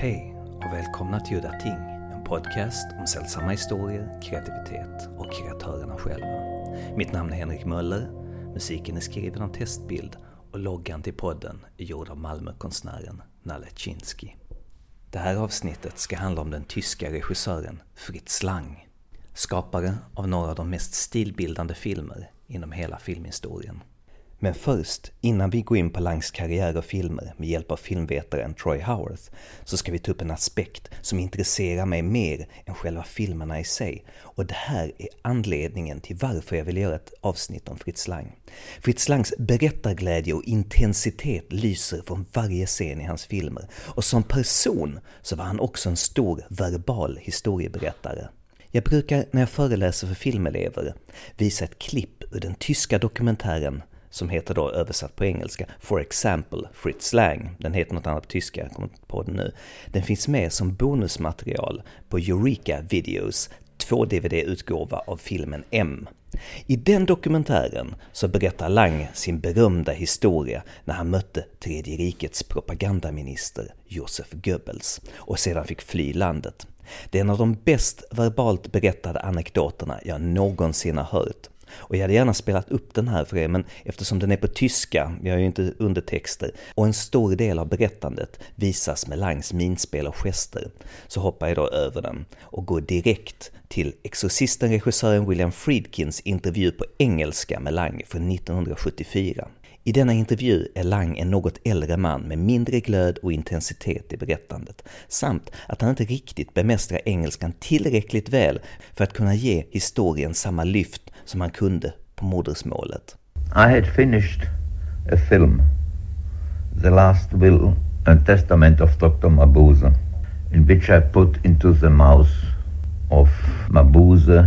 Hej och välkomna till Udda Ting, en podcast om sällsamma historier, kreativitet och kreatörerna själva. Mitt namn är Henrik Möller, musiken är skriven av Testbild och loggan till podden är gjord av Malmökonstnären Nalle Chinsky. Det här avsnittet ska handla om den tyska regissören Fritz Lang, skapare av några av de mest stilbildande filmer inom hela filmhistorien. Men först, innan vi går in på Langs karriär och filmer med hjälp av filmvetaren Troy Howarth, så ska vi ta upp en aspekt som intresserar mig mer än själva filmerna i sig. Och det här är anledningen till varför jag vill göra ett avsnitt om Fritz Lang. Fritz Langs berättarglädje och intensitet lyser från varje scen i hans filmer. Och som person så var han också en stor verbal historieberättare. Jag brukar när jag föreläser för filmelever visa ett klipp ur den tyska dokumentären som heter då översatt på engelska For Example Fritz Lang. Den heter något annat på tyska, jag kommer inte på det nu. Den finns med som bonusmaterial på Eureka Videos 2-DVD-utgåva av filmen M. I den dokumentären så berättar Lang sin berömda historia när han mötte Tredje rikets propagandaminister Josef Goebbels och sedan fick fly landet. Det är en av de bäst verbalt berättade anekdoterna jag någonsin har hört. Och jag hade gärna spelat upp den här för er, men eftersom den är på tyska, jag har ju inte undertexter, och en stor del av berättandet visas med Langs minspel och gester, så hoppar jag då över den och går direkt till Exorcisten-regissören William Friedkins intervju på engelska med Lang från 1974. I denna intervju är Lang en något äldre man med mindre glöd och intensitet i berättandet, samt att han inte riktigt bemästrar engelskan tillräckligt väl för att kunna ge historien samma lyft som han kunde på modersmålet. I had finished a film, The Last Will and Testament of Dr. Mabuse, in which I put into the mouth of Mabuse,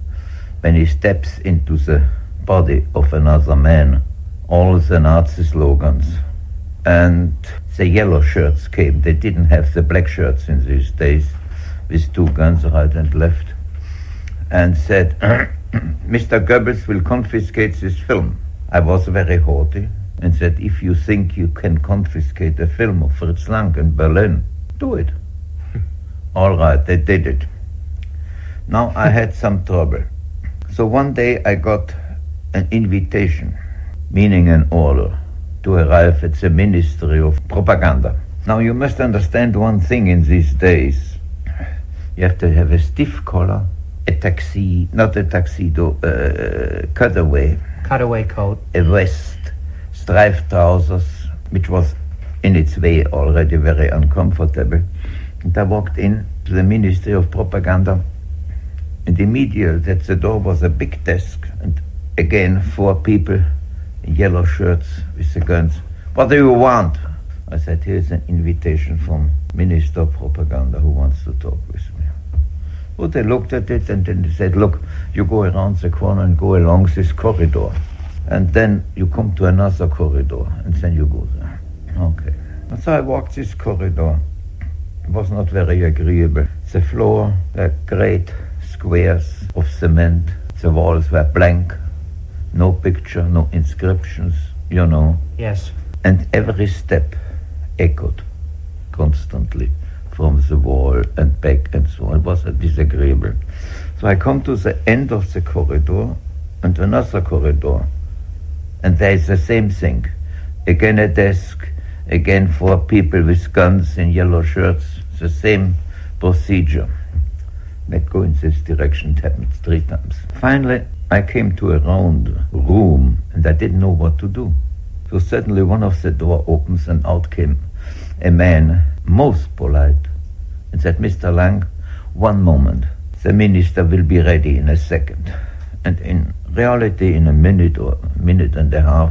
when he steps into the body of another man, all the Nazi slogans. And the yellow shirts came. They didn't have the black shirts in these days, with two guns right and left, and said, Mr. Goebbels will confiscate this film. I was very haughty and said, if you think you can confiscate a film of Fritz Lang in Berlin, do it. All right, they did it. Now I had some trouble. So one day I got an invitation, meaning an order, to arrive at the Ministry of Propaganda. Now you must understand one thing in these days. You have to have a stiff collar, a taxi, not a tuxedo, cutaway coat, a vest, striped trousers, which was in its way already very uncomfortable. And I walked in to the Ministry of Propaganda, and immediately at the door was a big desk, and again 4 people in yellow shirts with the guns. What do you want? I said, here's an invitation from Minister of Propaganda who wants to talk with me. Well, they looked at it and then they said, look, you go around the corner and go along this corridor. And then you come to another corridor and then you go there. Okay. And so I walked this corridor. It was not very agreeable. The floor were great squares of cement. The walls were blank. No picture, no inscriptions, you know. Yes. And every step echoed constantly from the wall and back and so on. It was disagreeable. So I come to the end of the corridor and another corridor, and there is the same thing. Again a desk, again 4 people with guns in yellow shirts, the same procedure. Let's go in this direction. It happened 3 times. Finally, I came to a round room and I didn't know what to do. So suddenly one of the door opens and out came a man, most polite, and said, Mr. Lang, one moment. The minister will be ready in a second. And in reality, in a minute or a minute and a half,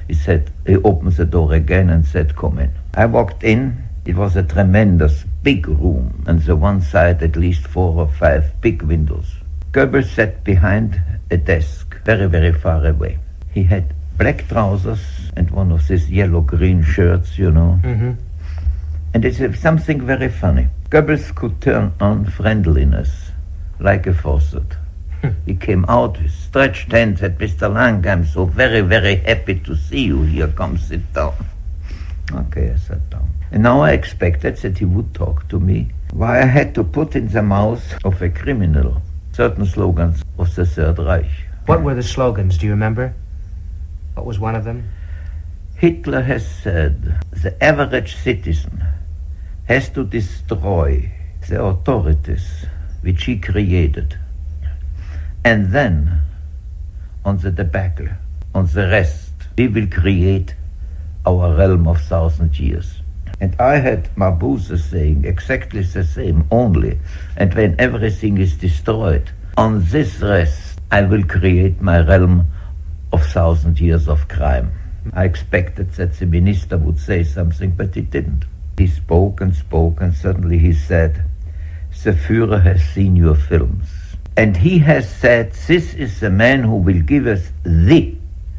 he opens the door again and said, come in. I walked in. It was a tremendous big room, and the one side at least 4 or 5 big windows. Goebbels sat behind a desk, very, very far away. He had black trousers and one of these yellow-green shirts, you know. Mm-hmm. And it's something very funny. Goebbels could turn on friendliness like a faucet. He came out with stretched hands, said, Mr. Lang, I'm so very, very happy to see you here. Come sit down. Okay, I sat down. And now I expected that he would talk to me. Why I had to put in the mouth of a criminal certain slogans of the Third Reich. What were the slogans? Do you remember? What was one of them? Hitler has said the average citizen has to destroy the authorities which he created. And then, on the debacle, on the rest, we will create our realm of 1,000 years. And I had Mabuse saying exactly the same only. And when everything is destroyed, on this rest, I will create my realm of 1,000 years of crime. I expected that the minister would say something, but he didn't. He spoke, and suddenly he said, the Führer has seen your films. And he has said, this is the man who will give us the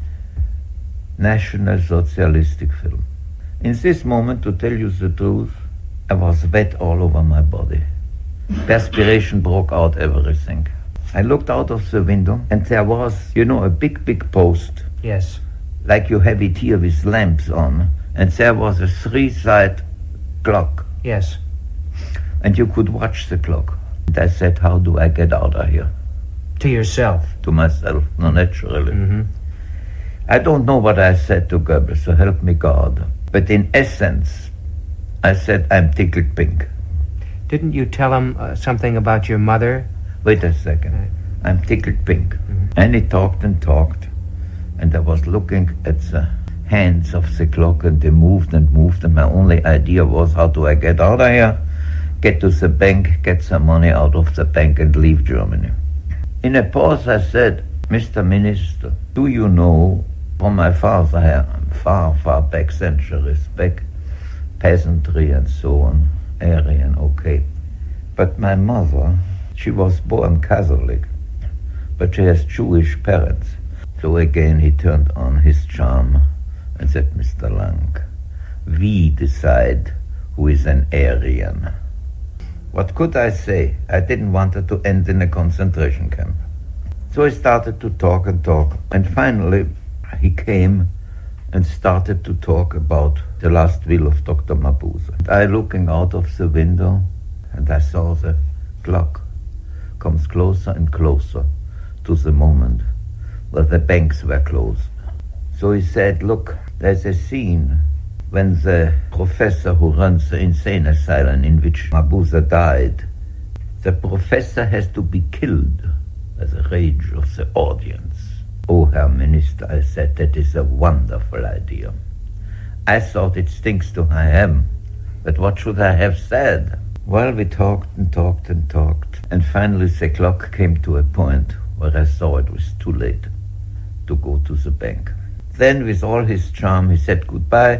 National Socialistic film. In this moment, to tell you the truth, I was wet all over my body. Perspiration broke out everything. I looked out of the window, and there was, a big post. Yes. Like you have it here with lamps on. And there was a 3-side clock. Yes. And you could watch the clock. And I said, how do I get out of here? To yourself? To myself, no, naturally. Mm-hmm. I don't know what I said to Goebbels, so help me God. But in essence, I said, I'm tickled pink. Didn't you tell him something about your mother? Wait a second. Right. I'm tickled pink. Mm-hmm. And he talked. And I was looking at the hands of the clock, and they moved. And my only idea was, how do I get out of here? Get to the bank, get some money out of the bank, and leave Germany. In a pause, I said, Mr. Minister, do you know, from my father, far back, centuries back, peasantry and so on, Aryan, okay. But my mother, she was born Catholic, but she has Jewish parents. So again he turned on his charm and said, Mr. Lang, we decide who is an Aryan. What could I say? I didn't want it to end in a concentration camp. So I started to talk, and finally he came and started to talk about the last will of Dr. Mabuse. I looking out of the window, and I saw the clock comes closer and closer to the moment where the banks were closed. So he said, look, there's a scene when the professor who runs the insane asylum in which Mabuse died, the professor has to be killed by the rage of the audience. Oh, Herr Minister, I said, that is a wonderful idea. I thought it stinks to high heaven, but what should I have said? Well, we talked, and finally the clock came to a point where I saw it was too late to go to the bank. Then, with all his charm, he said, goodbye.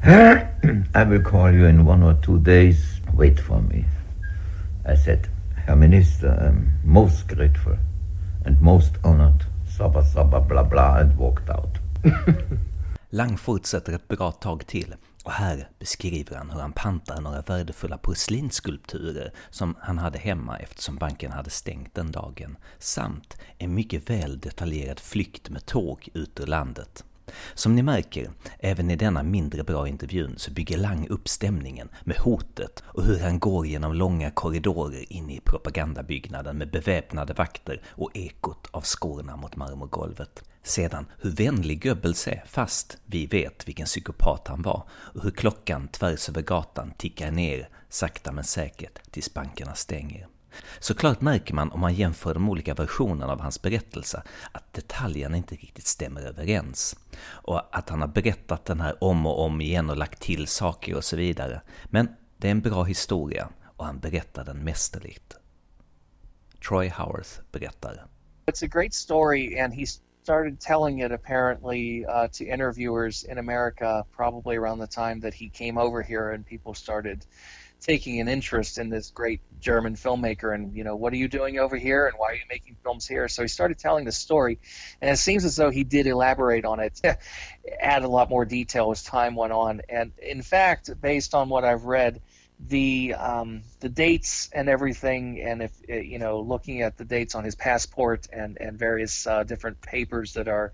I will call you in 1 or 2 days. Wait for me. I said, Herr Minister, I'm most grateful and most honored. Sabba, bla bla, and walked out. Lang fortsätter ett bra tag till, och här beskriver han hur han pantar några värdefulla porslinsskulpturer som han hade hemma eftersom banken hade stängt den dagen, samt en mycket väl detaljerad flykt med tåg ut ur landet. Som ni märker, även i denna mindre bra intervjun så bygger Lang upp stämningen med hotet och hur han går genom långa korridorer in i propagandabyggnaden med beväpnade vakter och ekot av skorna mot marmorgolvet. Sedan hur vänlig Goebbels är, fast vi vet vilken psykopat han var, och hur klockan tvärs över gatan tickar ner sakta men säkert tills bankerna stänger. Såklart märker man om man jämför de olika versionerna av hans berättelse att detaljerna inte riktigt stämmer överens och att han har berättat den här om och om igen och lagt till saker och så vidare. Men det är en bra historia och han berättar den mästerligt. Troy Howarth berättar. It's a great story, and he started telling it apparently to interviewers in America probably around the time that he came over here, and people started taking an interest in this great German filmmaker and, what are you doing over here and why are you making films here? So he started telling the story, and it seems as though he did elaborate on it, add a lot more detail as time went on. And in fact, based on what I've read, the dates and everything, and if looking at the dates on his passport and various different papers that are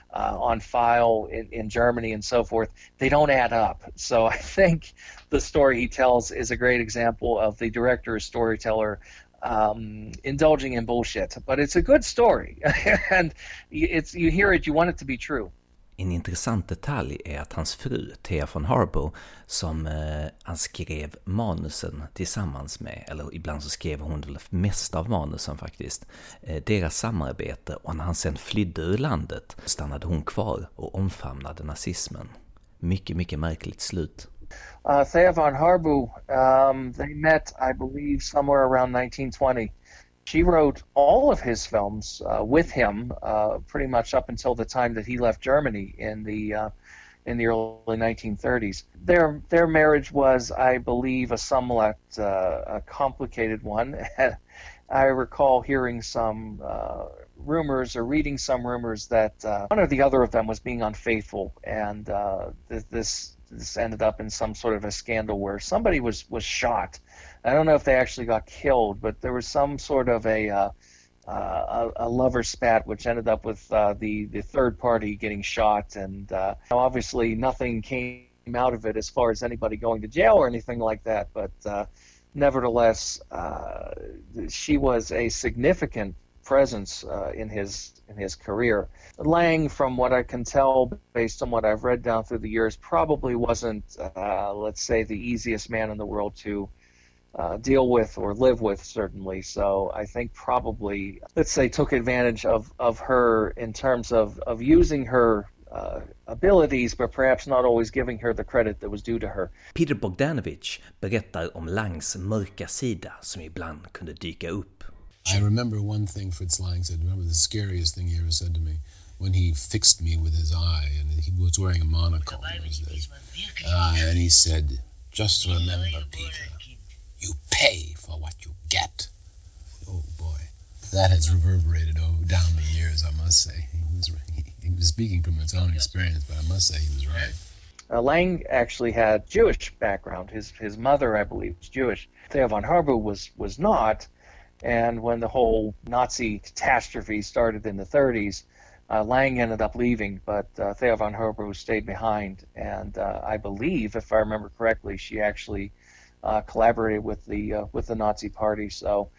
on file in Germany and so forth, they don't add up. So I think the story he tells is a great example of the director or storyteller indulging in bullshit. But it's a good story, and you hear it, you want it to be true. En intressant detalj är att hans fru, Thea von Harboe, som han skrev manusen tillsammans med, eller ibland så skrev hon väl mest av manusen faktiskt, deras samarbete, och när han sen flydde ur landet stannade hon kvar och omfamnade nazismen. Mycket, mycket märkligt slut. Thea von Harboe, they met, I believe, somewhere around 1920. She wrote all of his films with him, pretty much up until the time that he left Germany in the early 1930s. Their marriage was, I believe, a somewhat a complicated one. I recall hearing some rumors or reading some rumors that one or the other of them was being unfaithful, and this ended up in some sort of a scandal where somebody was shot. I don't know if they actually got killed, but there was some sort of a lover spat, which ended up with the third party getting shot, and obviously nothing came out of it as far as anybody going to jail or anything like that. But nevertheless, she was a significant presence in his career. Lang, from what I can tell, based on what I've read down through the years, probably wasn't, let's say, the easiest man in the world to deal with or live with, certainly. So I think probably, let's say, took advantage of her in terms of using her abilities, but perhaps not always giving her the credit that was due to her. Peter Bogdanovich berättar om Langs mörka sida som ibland kunde dyka upp. I remember one thing Fritz Lang said. Remember the scariest thing he ever said to me when he fixed me with his eye, and he was wearing a monocle. And he said, "Just remember, Peter, you pay for what you get." Oh boy, that has reverberated down the years. I must say, he was speaking from his own experience, but I must say he was right. Lang actually had Jewish background. His mother, I believe, was Jewish. Thea von Harboe was not. And when the whole Nazi catastrophe started in the 30s, Lang ended up leaving, but Thea von Harboe stayed behind. And I believe, if I remember correctly, she actually collaborated with the Nazi Party. So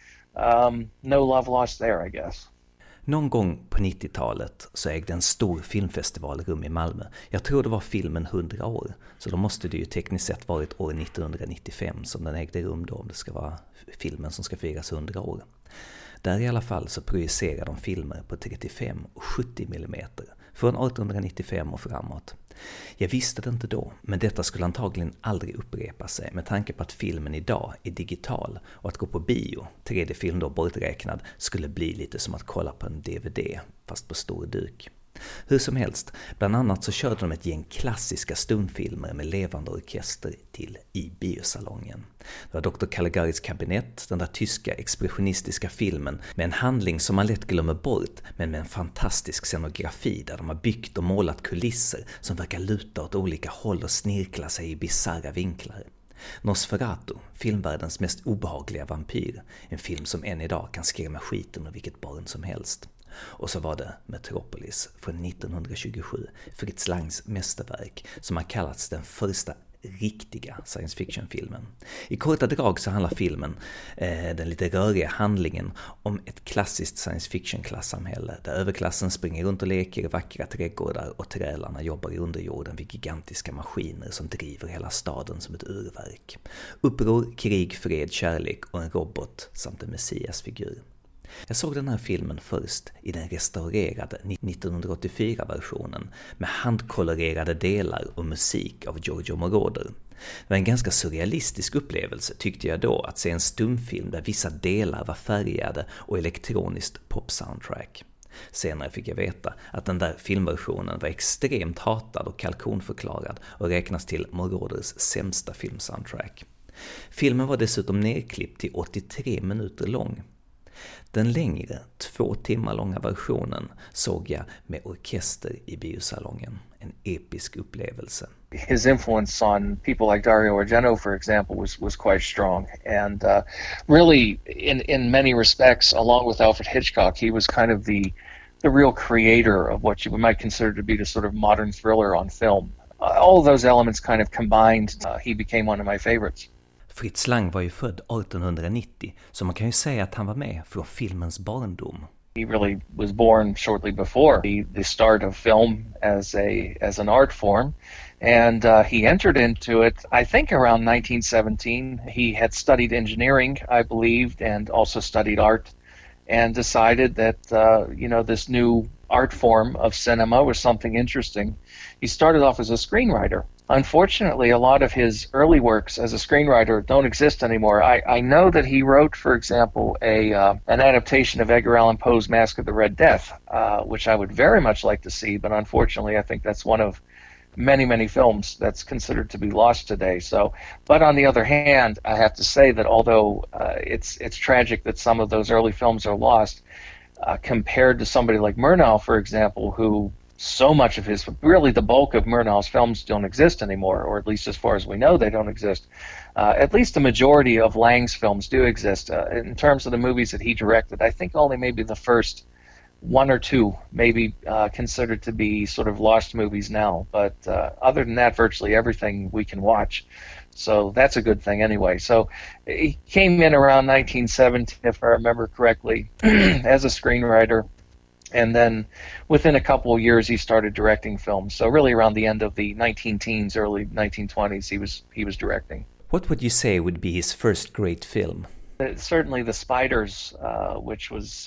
no love lost there, I guess. Någon gång på 90-talet så ägde en stor filmfestival rum i Malmö. Jag tror det var filmen 100 år. Så då måste det ju tekniskt sett varit år 1995 som den ägde rum då, om det ska vara filmen som ska firas 100 år. Där i alla fall så projicerar de filmer på 35 och 70 mm från 1895 och framåt. Jag visste det inte då, men detta skulle antagligen aldrig upprepa sig med tanke på att filmen idag är digital och att gå på bio, 3D-film då borträknad, skulle bli lite som att kolla på en DVD fast på stor duk. Hur som helst, bland annat så körde de ett gäng klassiska stumfilmer med levande orkester till i biosalongen. Det var Dr. Caligaris kabinett, den där tyska expressionistiska filmen med en handling som man lätt glömmer bort, men med en fantastisk scenografi där de har byggt och målat kulisser som verkar luta åt olika håll och snirkla sig i bizarra vinklar. Nosferatu, filmvärldens mest obehagliga vampyr, en film som än idag kan skrämma skiten ur vilket barn som helst. Och så var det Metropolis från 1927, Fritz Langs mästerverk, som har kallats den första riktiga science fiction-filmen. I korta drag så handlar filmen, den lite röriga handlingen, om ett klassiskt science fiction-klassamhälle där överklassen springer runt och leker i vackra trädgårdar och trälarna jobbar i underjorden vid gigantiska maskiner som driver hela staden som ett urverk. Uppror, krig, fred, kärlek och en robot samt en messiasfigur. Jag såg den här filmen först i den restaurerade 1984-versionen med handkolorerade delar och musik av Giorgio Moroder. Det var en ganska surrealistisk upplevelse tyckte jag då att se en stumfilm där vissa delar var färgade och elektroniskt pop-soundtrack. Senare fick jag veta att den där filmversionen var extremt hatad och kalkonförklarad och räknas till Moroders sämsta filmsoundtrack. Filmen var dessutom nedklippt till 83 minuter lång. Den längre, 2 timmar långa versionen såg jag med orkester i biosalongen. En episk upplevelse. His influence on people like Dario Argento, for example, was quite strong. And really, in many respects, along with Alfred Hitchcock, he was kind of the real creator of what you might consider to be the sort of modern thriller on film. All of those elements kind of combined, he became one of my favorites. Fritz Lang var ju född 1890, så man kan ju säga att han var med från filmens barndom. He really was born shortly before the start of film as an art form, and he entered into it, I think, around 1917. He had studied engineering, I believed, and also studied art, and decided that this new art form of cinema was something interesting. He started off as a screenwriter. Unfortunately, a lot of his early works as a screenwriter don't exist anymore. I know that he wrote, for example, an adaptation of Edgar Allan Poe's Masque of the Red Death, which I would very much like to see, but unfortunately I think that's one of many, many films that's considered to be lost today. So, but on the other hand, I have to say that although it's tragic that some of those early films are lost, compared to somebody like Murnau, for example, who so much of really the bulk of Murnau's films don't exist anymore, or at least as far as we know, they don't exist. At least the majority of Lang's films do exist. In terms of the movies that he directed, I think only maybe the first one or two may be considered to be sort of lost movies now. But other than that, virtually everything we can watch. So that's a good thing anyway. So he came in around 1917, if I remember correctly, as a screenwriter. And then within a couple of years, he started directing films. So really around the end of the 19-teens, early 1920s, he was directing. What would you say would be his first great film? Certainly The Spiders, which was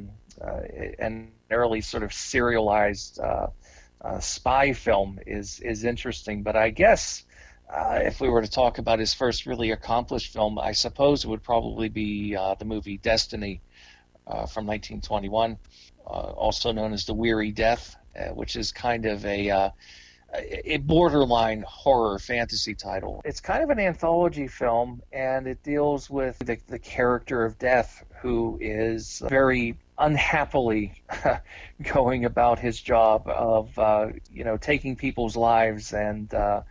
an early sort of serialized spy film, is interesting. But I guess if we were to talk about his first really accomplished film, I suppose it would probably be the movie Destiny from 1921. Also known as The Weary Death, which is kind of a borderline horror fantasy title. It's kind of an anthology film, and it deals with the character of Death, who is very unhappily going about his job of taking people's lives, and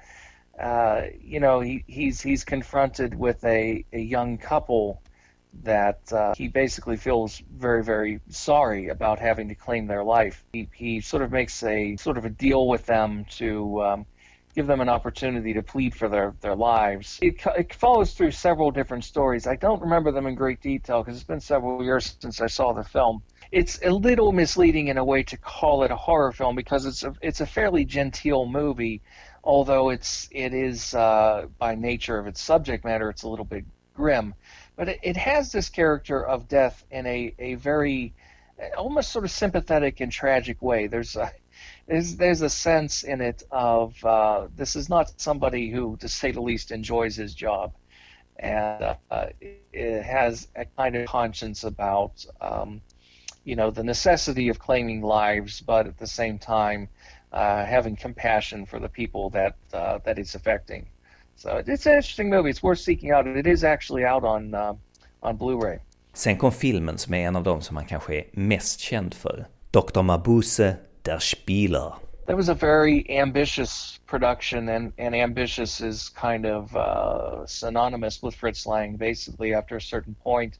he's confronted with a young couple that he basically feels very, very sorry about having to claim their life. He sort of makes a deal with them to give them an opportunity to plead for their lives. It follows through several different stories. I don't remember them in great detail because it's been several years since I saw the film. It's a little misleading in a way to call it a horror film because it's a fairly genteel movie, although it is by nature of its subject matter, it's a little bit grim. But it has this character of Death in a very almost sort of sympathetic and tragic way. There's a sense in it of this is not somebody who, to say the least, enjoys his job, and it has a kind of conscience about the necessity of claiming lives, but at the same time having compassion for the people that it's affecting. So it's an interesting movie. It's worth seeking out. It is actually out on Blu-ray. Sen kom filmen som är en av dem som man kanske är mest känd för. Dr. Mabuse, Der Spieler. That was a very ambitious production, and ambitious is kind of synonymous with Fritz Lang. Basically, after a certain point,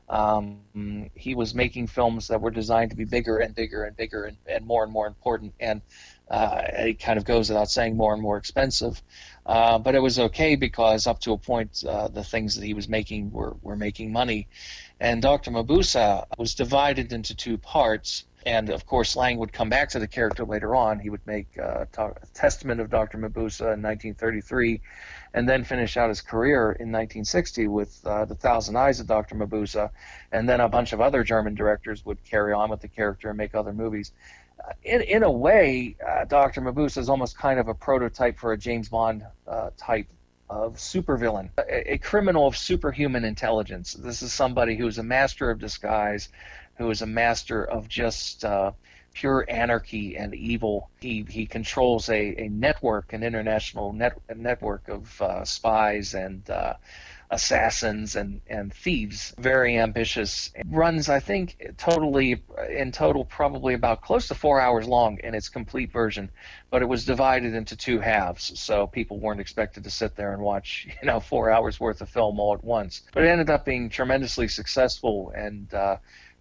he was making films that were designed to be bigger and bigger and bigger and more important, and it kind of goes without saying, more and more expensive. But it was okay because up to a point, the things that he was making were making money. And Dr. Mabuse was divided into two parts. And of course, Lang would come back to the character later on. He would make a Testament of Dr. Mabuse in 1933, and then finish out his career in 1960 with The Thousand Eyes of Dr. Mabuse. And then a bunch of other German directors would carry on with the character and make other movies. In a way, Dr. Mabuse is almost kind of a prototype for a James Bond type of supervillain, a criminal of superhuman intelligence. This is somebody who is a master of disguise, who is a master of just pure anarchy and evil. He controls a network, an international network of spies and assassins and thieves. Very ambitious. It runs, I think, in total probably about close to 4 hours long in its complete version, but it was divided into two halves, so people weren't expected to sit there and watch 4 hours worth of film all at once. But it ended up being tremendously successful and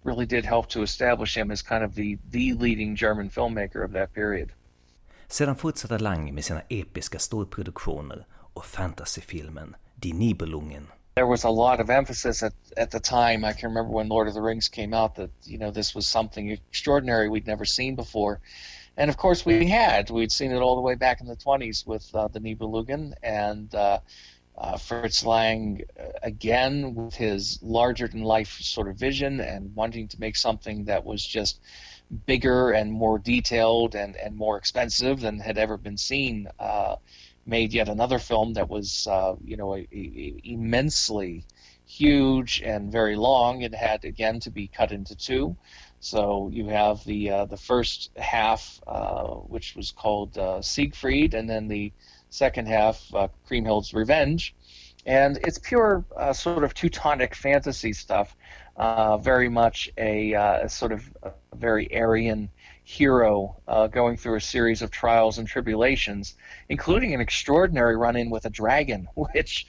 really did help to establish him as kind of the leading German filmmaker of that period. Sedan fortsatte Lang med sina episka storproduktioner och fantasyfilmen Die Nibelungen. There was a lot of emphasis at the time. I can remember when Lord of the Rings came out that, this was something extraordinary we'd never seen before. And of course we'd seen it all the way back in the 20s with the Nibelungen, and Fritz Lang, again, with his larger-than-life sort of vision and wanting to make something that was just bigger and more detailed and more expensive than had ever been seen, made yet another film that was, immensely huge and very long. It had, again, to be cut into two. So you have the first half, which was called Siegfried, and then the second half, Kriemhild's Revenge. And it's pure sort of Teutonic fantasy stuff, very much a sort of a very Aryan hero going through a series of trials and tribulations, including an extraordinary run-in with a dragon, which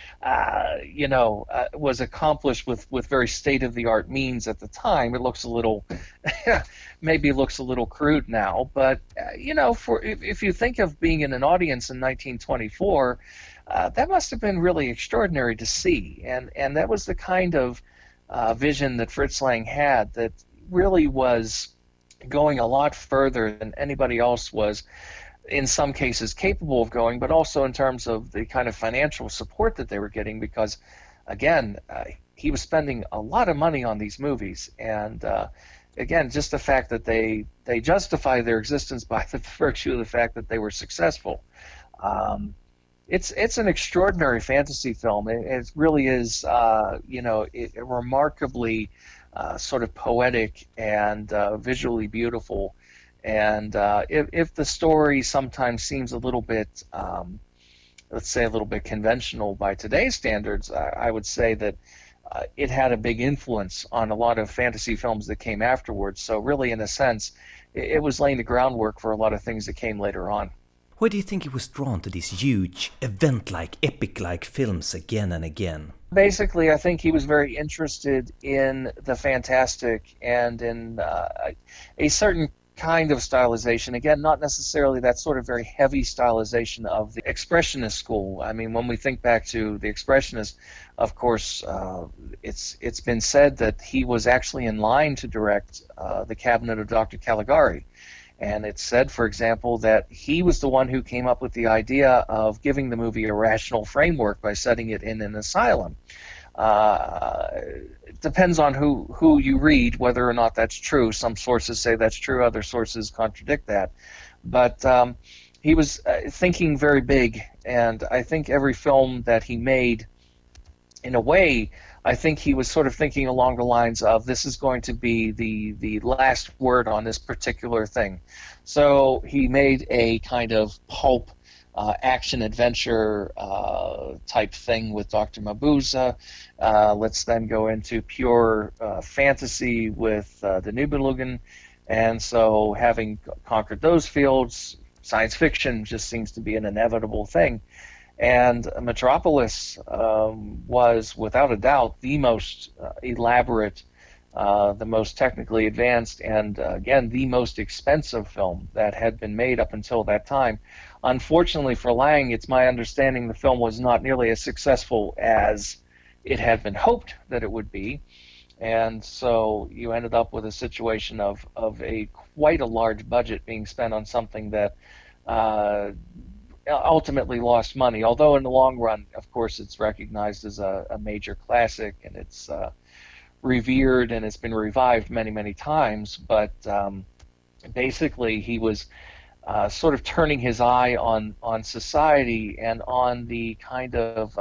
was accomplished with very state-of-the-art means at the time. It looks a little, maybe looks a little crude now, but if you think of being in an audience in 1924, that must have been really extraordinary to see, and that was the kind of vision that Fritz Lang had that really was going a lot further than anybody else was, in some cases, capable of going, but also in terms of the kind of financial support that they were getting, because, again, he was spending a lot of money on these movies, and again, just the fact that they justify their existence by the virtue of the fact that they were successful. It's an extraordinary fantasy film. It really is, remarkably sort of poetic and visually beautiful. And if the story sometimes seems a little bit, let's say a little bit conventional by today's standards, I would say that it had a big influence on a lot of fantasy films that came afterwards. So really, in a sense, it was laying the groundwork for a lot of things that came later on. Why do you think he was drawn to these huge, event-like, epic-like films again and again? Basically, I think he was very interested in the fantastic and in a certain kind of stylization. Again, not necessarily that sort of very heavy stylization of the Expressionist school. I mean, when we think back to the Expressionists, of course, it's been said that he was actually in line to direct The Cabinet of Dr. Caligari. And it's said, for example, that he was the one who came up with the idea of giving the movie a rational framework by setting it in an asylum. It depends on who you read, whether or not that's true. Some sources say that's true, other sources contradict that. But he was thinking very big, and I think every film that he made, in a way, I think he was sort of thinking along the lines of, this is going to be the last word on this particular thing. So he made a kind of pulp action-adventure type thing with Dr. Mabuse. Let's then go into pure fantasy with the Nibelungen. And so having conquered those fields, science fiction just seems to be an inevitable thing. And Metropolis was, without a doubt, the most elaborate, the most technically advanced, and again, the most expensive film that had been made up until that time. Unfortunately for Lang, it's my understanding the film was not nearly as successful as it had been hoped that it would be. And so you ended up with a situation of quite a large budget being spent on something that ultimately lost money, although in the long run, of course, it's recognized as a major classic, and it's revered, and it's been revived many, many times. But basically, he was sort of turning his eye on society and on the kind of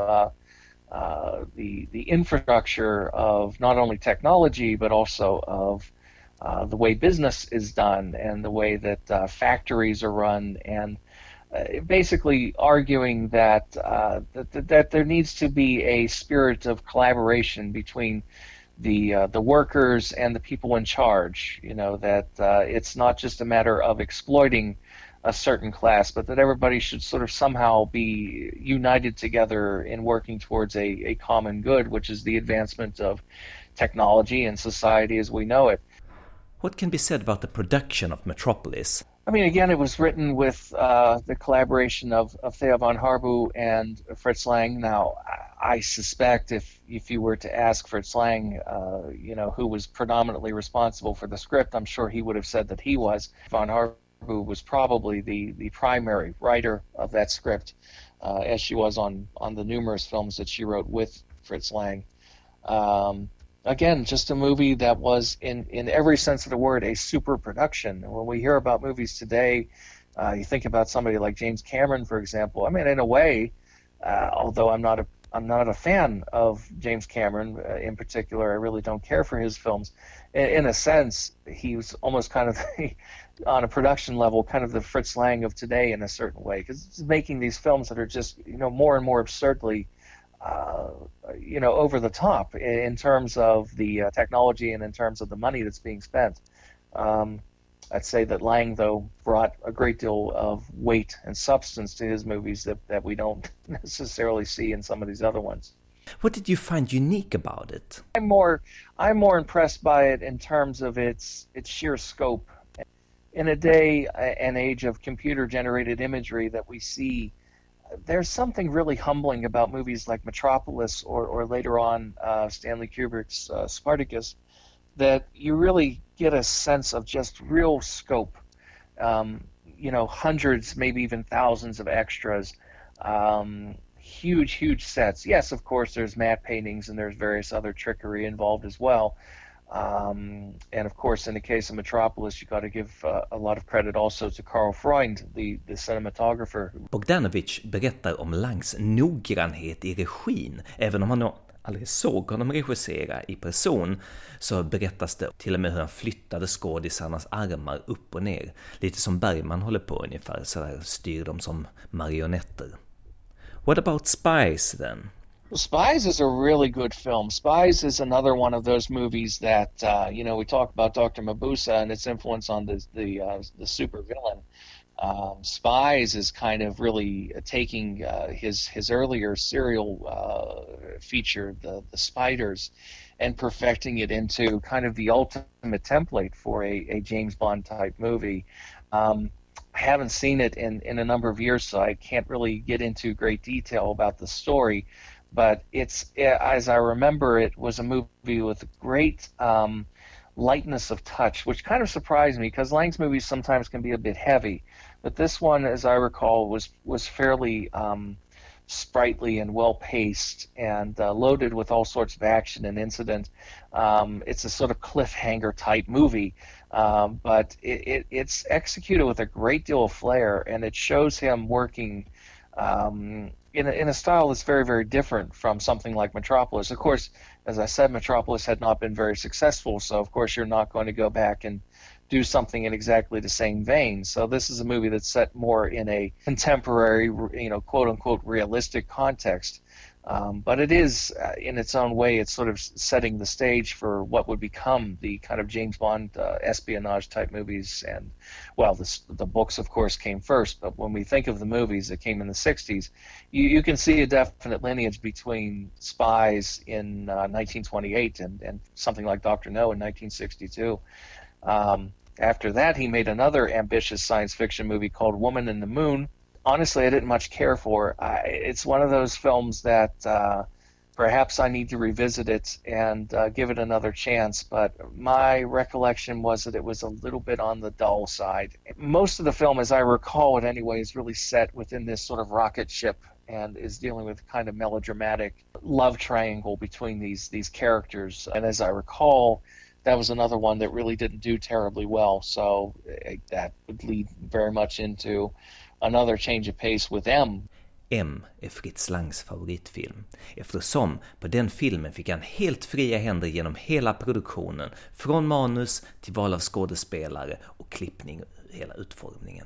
the infrastructure of not only technology, but also of the way business is done and the way that factories are run, and basically arguing that that there needs to be a spirit of collaboration between the workers and the people in charge. You know, that it's not just a matter of exploiting a certain class, but that everybody should sort of somehow be united together in working towards a common good, which is the advancement of technology and society as we know it. What can be said about the production of Metropolis? I mean, again, it was written with the collaboration of Theo von Harbu and Fritz Lang. Now, I suspect if you were to ask Fritz Lang, who was predominantly responsible for the script, I'm sure he would have said that he was. Von Harbu was probably the primary writer of that script, as she was on the numerous films that she wrote with Fritz Lang. Again, just a movie that was, in every sense of the word, a super production. When we hear about movies today, you think about somebody like James Cameron, for example. I mean, in a way, although I'm not a fan of James Cameron in particular, I really don't care for his films. In a sense, he was almost kind of, on a production level, kind of the Fritz Lang of today in a certain way, because he's making these films that are just, more and more absurdly over the top in terms of the technology and in terms of the money that's being spent. I'd say that Lang, though, brought a great deal of weight and substance to his movies that we don't necessarily see in some of these other ones. What did you find unique about it? I'm more impressed by it in terms of its sheer scope. In a day and age of computer-generated imagery that we see, there's something really humbling about movies like Metropolis or later on Stanley Kubrick's Spartacus, that you really get a sense of just real scope. Hundreds, maybe even thousands of extras, huge sets. Yes, of course, there's matte paintings and there's various other trickery involved as well. And of course, in the case of Metropolis, you got to give a lot of credit also to Karl Freund, the cinematographer. Bogdanovich berättar om Langs noggrannhet i regin. Även om han aldrig såg honom regissera i person, så berättas det till och med hur han flyttade skådisarnas armar upp och ner. Lite som Bergman håller på ungefär, så där styr de som marionetter. What about Spies then? Spies is a really good film. Spies is another one of those movies that we talk about Dr. Mabuse and its influence on the supervillain. Spies is kind of really taking his earlier serial feature, the Spiders, and perfecting it into kind of the ultimate template for a James Bond type movie. I haven't seen it in a number of years, so I can't really get into great detail about the story. But as I remember, it was a movie with great lightness of touch, which kind of surprised me because Lang's movies sometimes can be a bit heavy. But this one, as I recall, was fairly sprightly and well-paced and loaded with all sorts of action and incident. It's a sort of cliffhanger-type movie, but it's executed with a great deal of flair, and it shows him working in a style that's very, very different from something like Metropolis. Of course, as I said, Metropolis had not been very successful, so of course you're not going to go back and do something in exactly the same vein. So this is a movie that's set more in a contemporary, quote-unquote realistic context. But it is, in its own way, it's sort of setting the stage for what would become the kind of James Bond espionage-type movies. And, well, the books, of course, came first. But when we think of the movies that came in the 60s, you can see a definite lineage between Spies in 1928 and something like Dr. No in 1962. After that, he made another ambitious science fiction movie called Woman in the Moon. Honestly, I didn't much care for. It's one of those films that perhaps I need to revisit it and give it another chance, but my recollection was that it was a little bit on the dull side. Most of the film, as I recall it anyway, is really set within this sort of rocket ship and is dealing with a kind of melodramatic love triangle between these characters. And as I recall, that was another one that really didn't do terribly well, so that would lead very much into another change of pace with M. M är Fritz Langs favoritfilm, eftersom på den filmen fick han helt fria händer genom hela produktionen, från manus till val av skådespelare och klippning, hela utformningen.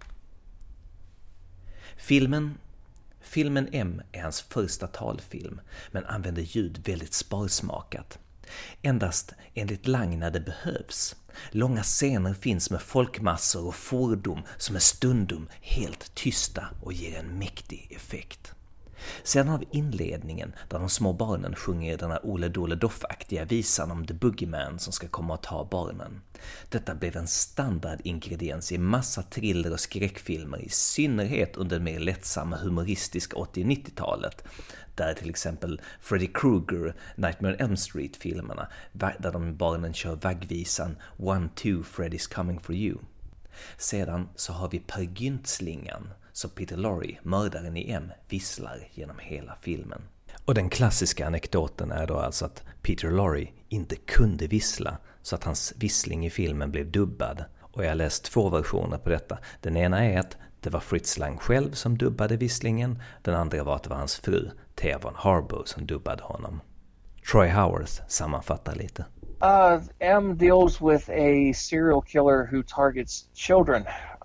Filmen M är hans första talfilm, men använder ljud väldigt sparsmakat. Endast enligt Lang när det behövs. Långa scener finns med folkmassor och fordon som är stundom helt tysta och ger en mäktig effekt. Sedan har vi inledningen där de små barnen sjunger den här Ole Dole Doff-aktiga visan om The Boogeyman som ska komma och ta barnen. Detta blev en standardingrediens i massa thriller och skräckfilmer, i synnerhet under det mer lättsamma humoristiska 80- och 90-talet, där till exempel Freddy Krueger, Nightmare on Elm Street-filmerna, där de barnen kör vaggvisan 1-2 Freddy's coming for you. Sedan så har vi Per Gynt-slingan, så Peter Lorre, mördaren i M, visslar genom hela filmen. Och den klassiska anekdoten är då alltså att Peter Lorre inte kunde vissla, så att hans vissling i filmen blev dubbad. Och jag har läst 2 versioner på detta. Den ena är att det var Fritz Lang själv som dubbade visslingen. Den andra var att det var hans fru, Thea von Harbour, som dubbade honom. Troy Howarth sammanfattar lite. M deals with a serial killer who targets children.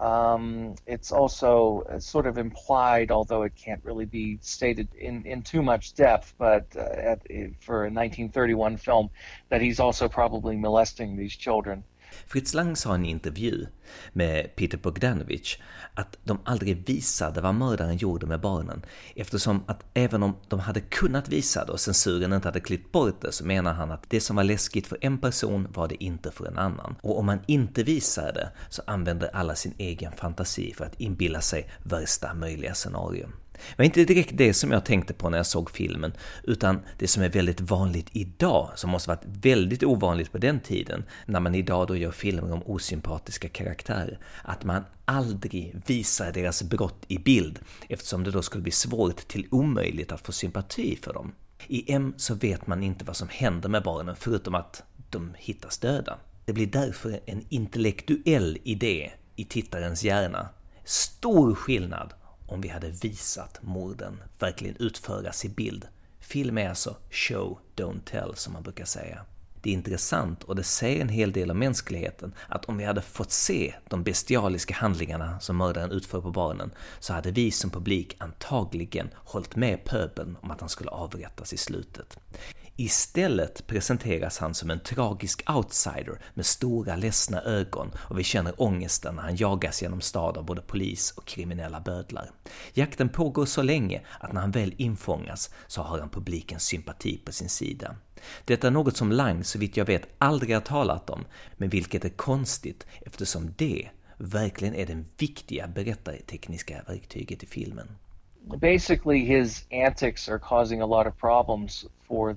It's also sort of implied, although it can't really be stated in too much depth, but for a 1931 film, that he's also probably molesting these children. Fritz Lang sa i en intervju med Peter Bogdanovich att de aldrig visade vad mördaren gjorde med barnen, eftersom att även om de hade kunnat visa det och censuren inte hade klippt bort det, så menar han att det som var läskigt för en person var det inte för en annan. Och om man inte visar det så använder alla sin egen fantasi för att inbilla sig värsta möjliga scenario. Det var inte direkt det som jag tänkte på när jag såg filmen, utan det som är väldigt vanligt idag, som måste varit väldigt ovanligt på den tiden, när man idag då gör filmer om osympatiska karaktärer, att man aldrig visar deras brott i bild, eftersom det då skulle bli svårt till omöjligt att få sympati för dem. I M så vet man inte vad som händer med barnen förutom att de hittas döda. Det blir därför en intellektuell idé i tittarens hjärna. Stor skillnad om vi hade visat morden verkligen utföras i bild. Film är alltså show, don't tell, som man brukar säga. Det är intressant och det säger en hel del om mänskligheten att om vi hade fått se de bestialiska handlingarna som mördaren utför på barnen, så hade vi som publik antagligen hållit med pöbeln om att han skulle avrättas i slutet. Istället presenteras han som en tragisk outsider med stora ledsna ögon, och vi känner ångesten när han jagas genom stad av både polis och kriminella bödlar. Jakten pågår så länge att när han väl infångas så har han publikens sympati på sin sida. Detta är något som Lang, så vitt jag vet, aldrig har talat om, men vilket är konstigt eftersom det verkligen är den viktiga berättartekniska verktyget i filmen. Basically, his antics are causing a lot of problems for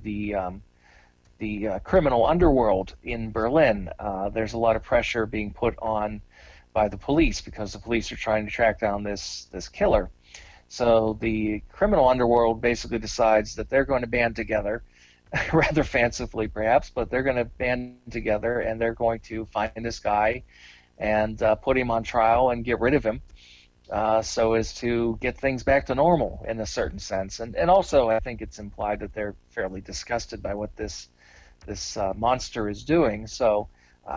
the criminal underworld in Berlin. There's a lot of pressure being put on by the police because the police are trying to track down this killer. So the criminal underworld basically decides that they're going to band together, rather fancifully perhaps, but they're going to band together and they're going to find this guy and put him on trial and get rid of him. So as to get things back to normal in a certain sense. And also I think it's implied that they're fairly disgusted by what this monster is doing. So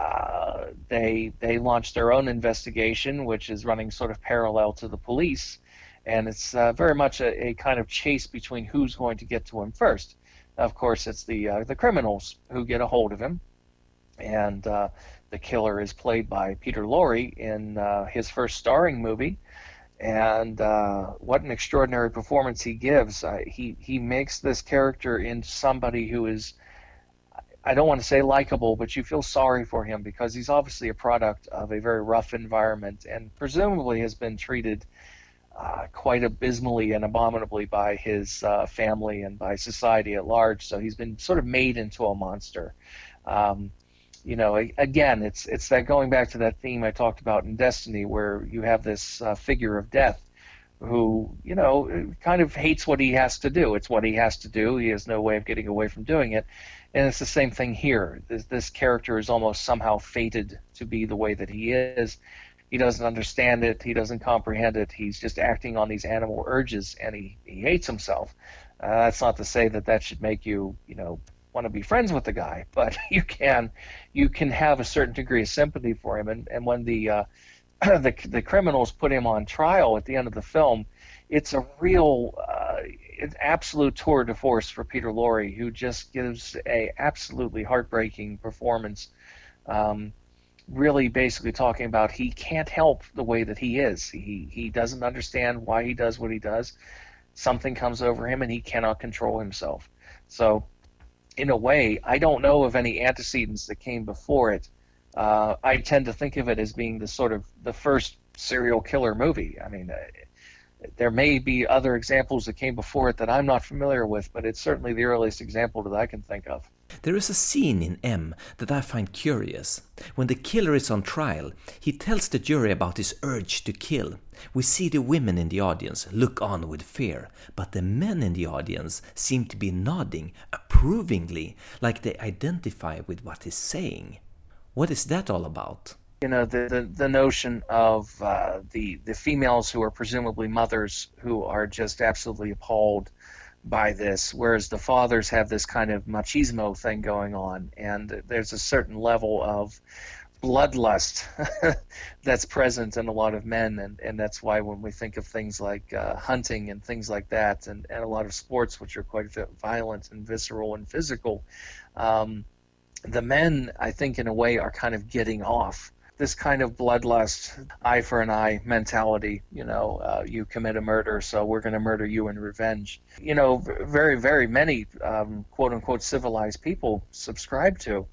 they launch their own investigation, which is running sort of parallel to the police. And it's very much a kind of chase between who's going to get to him first. Of course, it's the criminals who get a hold of him. And the killer is played by Peter Lorre in his first starring movie. And what an extraordinary performance he gives. He makes this character into somebody who is, I don't want to say likable, but you feel sorry for him because he's obviously a product of a very rough environment and presumably has been treated quite abysmally and abominably by his family and by society at large. So he's been sort of made into a monster. You know, again, it's that going back to that theme I talked about in Destiny, where you have this figure of death who, you know, kind of hates what he has to do. It's what he has to do. He has no way of getting away from doing it. And it's the same thing here. This character is almost somehow fated to be the way that he is. He doesn't understand it. He doesn't comprehend it. He's just acting on these animal urges, and he hates himself. That's not to say that should make you, you know, want to be friends with the guy, but you can have a certain degree of sympathy for him. And when the criminals put him on trial at the end of the film, it's a real an absolute tour de force for Peter Lorre, who just gives a absolutely heartbreaking performance. Really basically talking about he can't help the way that he is. He doesn't understand why he does what he does. something comes over him and he cannot control himself. So in a way, I don't know of any antecedents that came before it. I tend to think of it as being the first serial killer movie. I mean, there may be other examples that came before it that I'm not familiar with, but it's certainly the earliest example that I can think of. There is a scene in M that I find curious. When the killer is on trial, he tells the jury about his urge to kill. We see the women in the audience look on with fear, but the men in the audience seem to be nodding approvingly, like they identify with what he's saying. What is that all about? You know, the notion of the females who are presumably mothers who are just absolutely appalled by this, whereas the fathers have this kind of machismo thing going on, and there's a certain level of bloodlust that's present in a lot of men, and that's why when we think of things like hunting and things like that, and a lot of sports which are quite violent and visceral and physical, the men, I think, in a way, are kind of getting off this kind of bloodlust, eye for an eye mentality. You know, you commit a murder, so we're going to murder you in revenge. You know, very, very many quote-unquote civilized people subscribe to.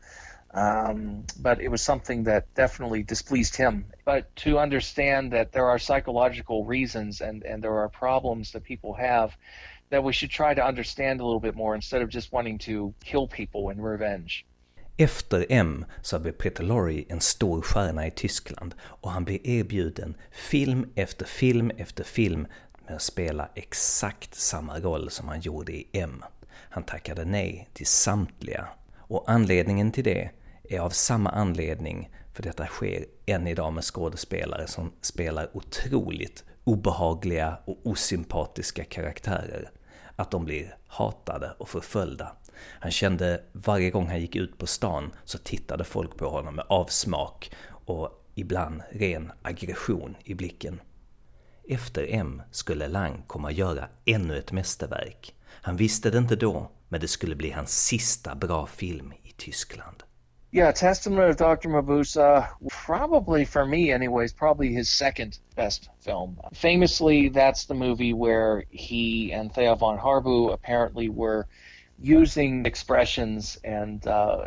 But it was something that definitely displeased him. But to understand that there are psychological reasons and there are problems that people have that we should try to understand a little bit more instead of just wanting to kill people in revenge. Efter M så blir Peter Lorre en stor stjärna i Tyskland och han blir erbjuden film efter film efter film med att spela exakt samma roll som han gjorde i M. Han tackade nej till samtliga, och anledningen till det är av samma anledning, för detta sker än idag med skådespelare som spelar otroligt obehagliga och osympatiska karaktärer, att de blir hatade och förföljda. Han kände varje gång han gick ut på stan så tittade folk på honom med avsmak och ibland ren aggression i blicken. Efter M skulle Lang komma att göra ännu ett mästerverk. Han visste det inte då, men det skulle bli hans sista bra film i Tyskland. Yeah, Testament of Dr. Mabuse, probably for me anyways, probably his second best film. Famously, that's the movie where he and Thea von Harbu apparently were using expressions and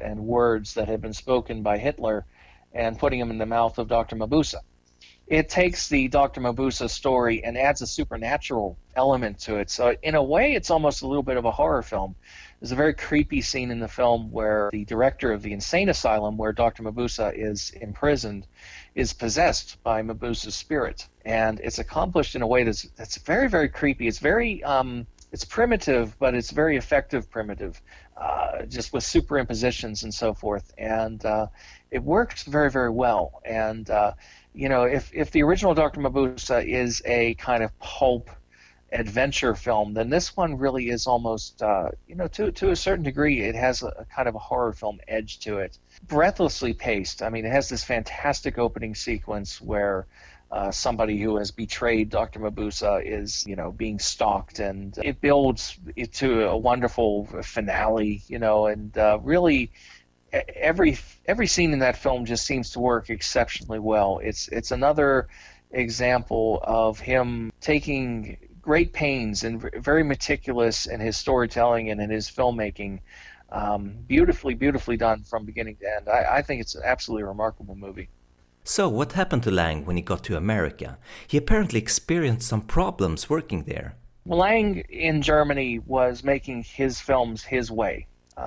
words that had been spoken by Hitler and putting them in the mouth of Dr. Mabuse. It takes the Dr. Mabuse story and adds a supernatural element to it. So in a way, it's almost a little bit of a horror film. There's a very creepy scene in the film where the director of the insane asylum where Dr. Mabuse is imprisoned is possessed by Mabuse's spirit. And it's accomplished in a way that's very, very creepy. It's very it's primitive, but it's very effective primitive, just with superimpositions and so forth. And it works very, very well. And, you know, if the original Dr. Mabuse is a kind of pulp adventure film, then this one really is almost, you know, to a certain degree, it has a kind of a horror film edge to it. Breathlessly paced. I mean, it has this fantastic opening sequence where somebody who has betrayed Dr. Mabuse is, you know, being stalked, and it builds it to a wonderful finale, you know, and really every scene in that film just seems to work exceptionally well. It's another example of him taking great pains and very meticulous in his storytelling and in his filmmaking. Beautifully done from beginning to end. I think it's an absolutely remarkable movie. So what happened to Lang when he got to America? He apparently experienced some problems working there. Lang in Germany was making his films his way.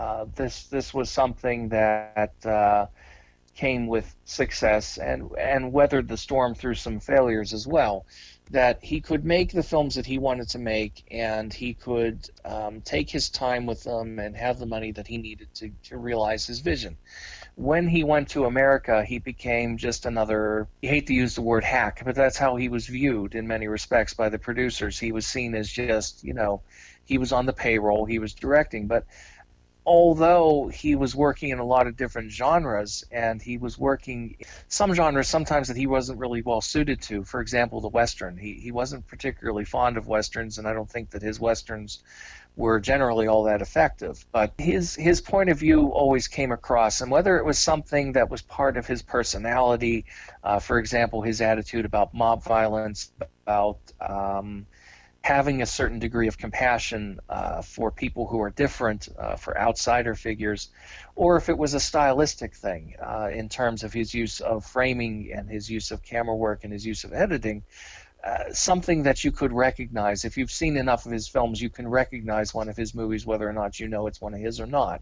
This was something that came with success and weathered the storm through some failures as well. That he could make the films that he wanted to make, and he could take his time with them and have the money that he needed to realize his vision. When he went to America, he became just another, I hate to use the word hack, but that's how he was viewed in many respects by the producers. He was seen as just, you know, he was on the payroll, he was directing, but although he was working in a lot of different genres, and he was working some genres sometimes that he wasn't really well suited to, for example, the Western. He wasn't particularly fond of Westerns, and I don't think that his Westerns were generally all that effective. But his point of view always came across, and whether it was something that was part of his personality, for example, his attitude about mob violence, about having a certain degree of compassion for people who are different, for outsider figures, or if it was a stylistic thing in terms of his use of framing and his use of camera work and his use of editing. Something that you could recognize. If you've seen enough of his films, you can recognize one of his movies, whether or not you know it's one of his or not.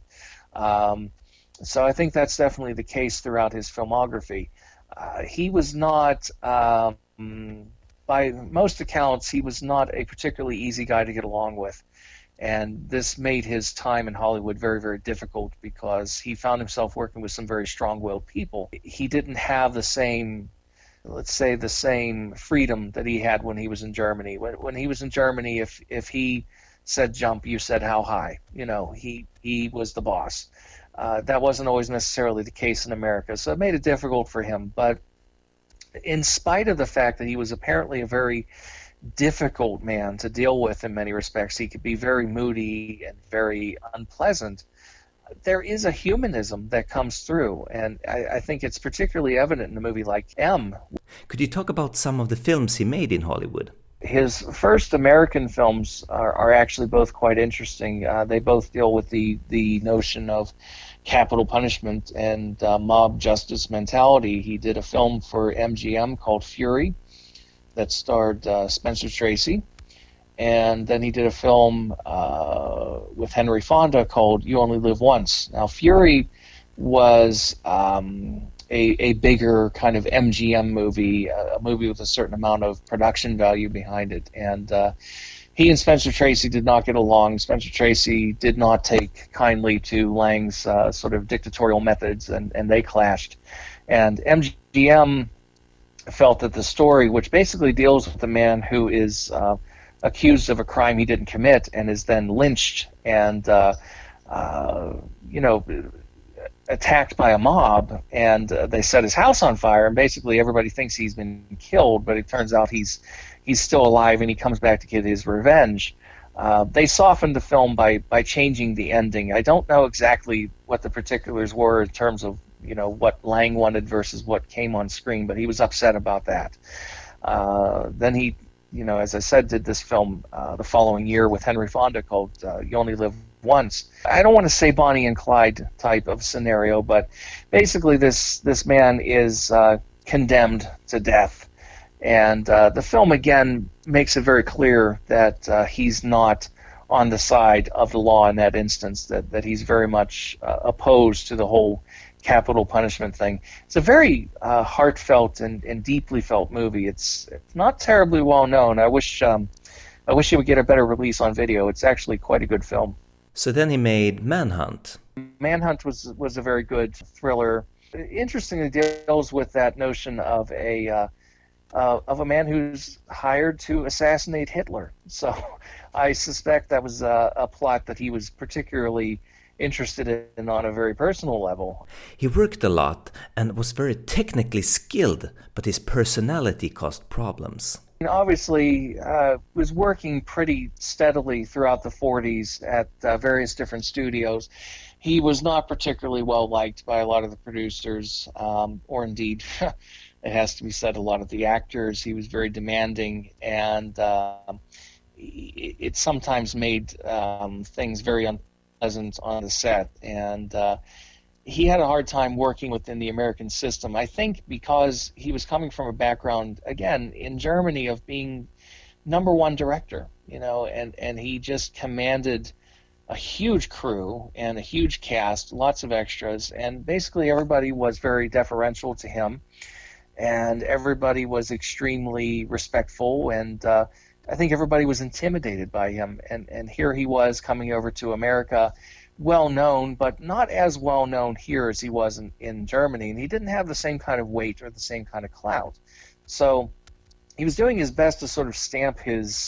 So I think that's definitely the case throughout his filmography. He was not, by most accounts, he was not a particularly easy guy to get along with. And this made his time in Hollywood very, very difficult because he found himself working with some very strong-willed people. He didn't have the same, let's say, the same freedom that he had when he was in Germany. When he was in Germany, if he said jump, you said how high. You know, he was the boss. That wasn't always necessarily the case in America, so it made it difficult for him. But in spite of the fact that he was apparently a very difficult man to deal with in many respects, he could be very moody and very unpleasant, there is a humanism that comes through, and I think it's particularly evident in a movie like M. Could you talk about some of the films he made in Hollywood? His first American films are actually both quite interesting. They both deal with the notion of capital punishment and mob justice mentality. He did a film for MGM called Fury that starred Spencer Tracy. And then he did a film with Henry Fonda called You Only Live Once. Now, Fury was a bigger kind of MGM movie, a movie with a certain amount of production value behind it. And he and Spencer Tracy did not get along. Spencer Tracy did not take kindly to Lang's sort of dictatorial methods, and they clashed. And MGM felt that the story, which basically deals with a man who is accused of a crime he didn't commit and is then lynched and attacked by a mob, and they set his house on fire, and basically everybody thinks he's been killed, but it turns out he's still alive and he comes back to get his revenge. They softened the film by changing the ending. I don't know exactly what the particulars were in terms of what Lang wanted versus what came on screen, but he was upset about that. Then he, as I said, did this film the following year with Henry Fonda called You Only Live Once. I don't want to say Bonnie and Clyde type of scenario, but basically this man is condemned to death. And the film, again, makes it very clear that he's not on the side of the law in that instance, that he's very much opposed to the whole capital punishment thing. It's a very heartfelt and deeply felt movie. It's not terribly well known. I wish it would get a better release on video. It's actually quite a good film. So then he made Manhunt. Manhunt was a very good thriller. Interestingly, deals with that notion of a man who's hired to assassinate Hitler. So I suspect that was a plot that he was particularly interested in on a very personal level. He worked a lot and was very technically skilled, but his personality caused problems. Obviously, was working pretty steadily throughout the 40s at various different studios. He was not particularly well liked by a lot of the producers, or indeed, it has to be said, a lot of the actors. He was very demanding, and it sometimes made things very unpleasant on the set. And he had a hard time working within the American system, I think because he was coming from a background, again, in Germany of being #1 director, and he just commanded a huge crew and a huge cast, lots of extras, and basically everybody was very deferential to him, and everybody was extremely respectful, and I think everybody was intimidated by him, and here he was coming over to America, well known, but not as well known here as he was in Germany, and he didn't have the same kind of weight or the same kind of clout. So he was doing his best to sort of stamp his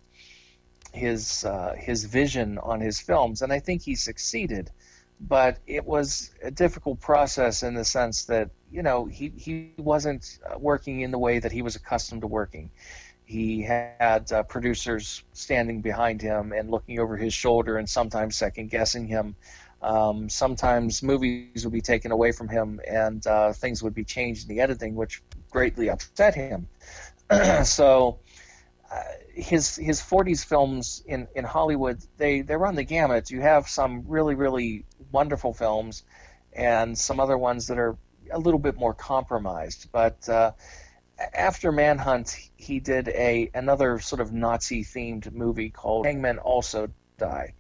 vision on his films, and I think he succeeded. But it was a difficult process in the sense that he wasn't working in the way that he was accustomed to working. He had producers standing behind him and looking over his shoulder and sometimes second-guessing him. Sometimes movies would be taken away from him and things would be changed in the editing, which greatly upset him. So his 40s films in Hollywood, they run the gamut. You have some really, really wonderful films and some other ones that are a little bit more compromised. But after Manhunt, he did another sort of Nazi-themed movie called Hangmen Also Die.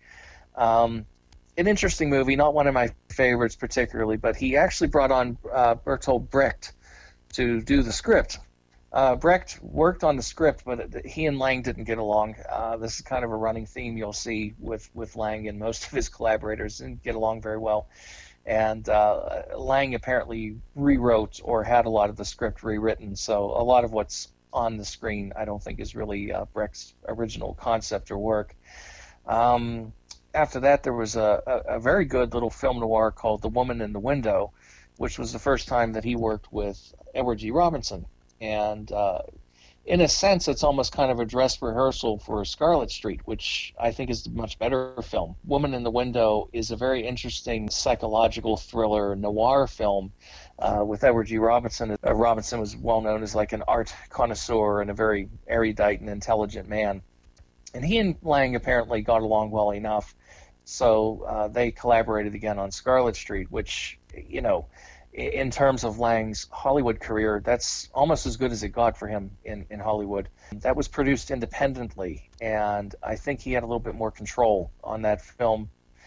An interesting movie, not one of my favorites particularly, but he actually brought on Bertolt Brecht to do the script. Brecht worked on the script, but he and Lang didn't get along. This is kind of a running theme you'll see with Lang and most of his collaborators didn't get along very well. And Lang apparently rewrote or had a lot of the script rewritten, so a lot of what's on the screen I don't think is really Brecht's original concept or work. After that, there was a very good little film noir called The Woman in the Window, which was the first time that he worked with Edward G. Robinson. And in a sense, it's almost kind of a dress rehearsal for Scarlet Street, which I think is a much better film. Woman in the Window is a very interesting psychological thriller noir film with Edward G. Robinson. Robinson was well known as like an art connoisseur and a very erudite and intelligent man. And he and Lang apparently got along well enough, so they collaborated again on Scarlet Street, which, you know, in terms of Lang's Hollywood career, that's almost as good as it got for him in Hollywood. That was produced independently, and I think he had a little bit more control on that film.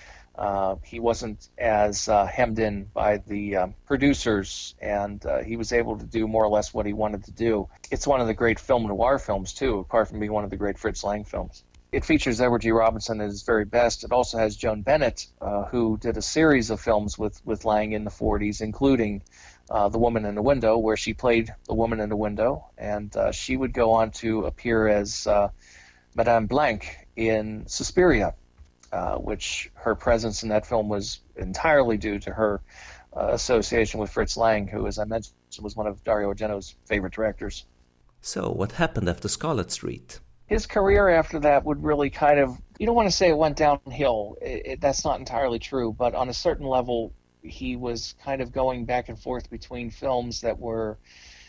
He wasn't as hemmed in by the producers, and he was able to do more or less what he wanted to do. It's one of the great film noir films, too, apart from being one of the great Fritz Lang films. It features Edward G. Robinson at his very best. It also has Joan Bennett, who did a series of films with Lang in the 40s, including The Woman in the Window, where she played the woman in the window, and she would go on to appear as Madame Blanc in Suspiria, which her presence in that film was entirely due to her association with Fritz Lang, who, as I mentioned, was one of Dario Argento's favorite directors. So, what happened after Scarlet Street? His career after that would really kind of, you don't want to say it went downhill. That's not entirely true, but on a certain level, he was kind of going back and forth between films that were